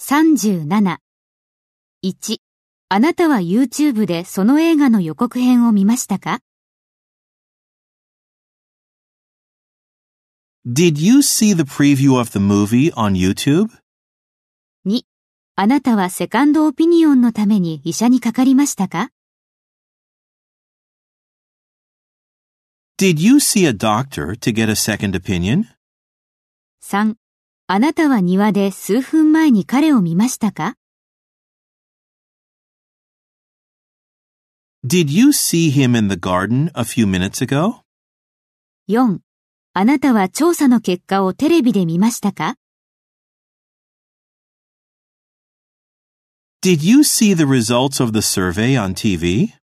37。1、あなたは YouTube でその映画の予告編を見ましたか？ Did you see the preview of the movie on YouTube? 2、あなたはセカンドオピニオンのために医者にかかりましたか？ Did you see a doctor to get a second opinion? 3、あなたは庭で数分前に彼を見ましたか？ Did you see him in the garden a few minutes ago? 4、あなたは調査の結果をテレビで見ましたか？ Did you see the results of the survey on TV?